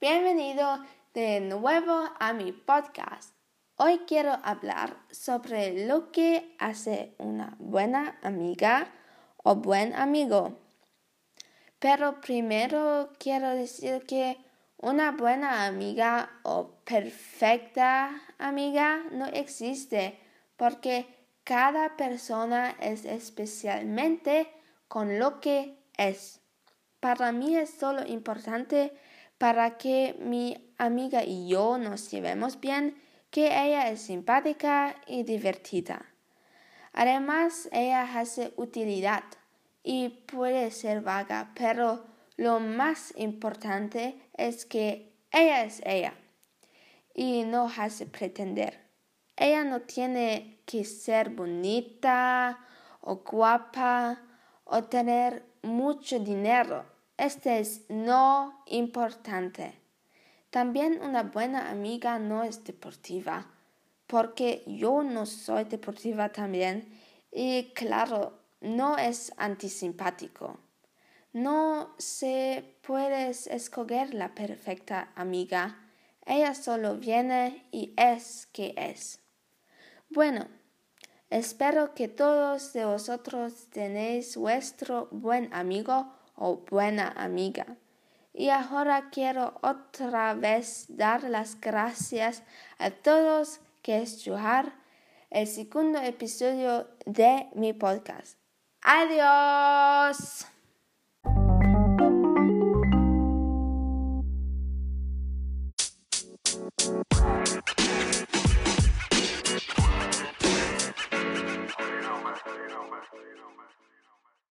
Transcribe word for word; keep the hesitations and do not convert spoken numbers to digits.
Bienvenido de nuevo a mi podcast. Hoy quiero hablar sobre lo que hace una buena amiga o buen amigo. Pero primero quiero decir que una buena amiga o perfecta amiga no existe porque cada persona es especialmente con lo que es. Para mí es solo importante para que mi amiga y yo nos llevemos bien, que ella es simpática y divertida. Además, ella hace utilidad y puede ser vaga, pero lo más importante es que ella es ella y no hace pretender. Ella no tiene que ser bonita o guapa o tener mucho dinero. Este es no importante. También una buena amiga no es deportiva, porque yo no soy deportiva también y claro, no es antisimpático. No se puede escoger la perfecta amiga. Ella solo viene y es que es. Bueno, espero que todos de vosotros tenéis vuestro buen amigo o buena amiga. Y ahora quiero otra vez dar las gracias a todos que escucharon el segundo episodio de mi podcast. ¡Adiós!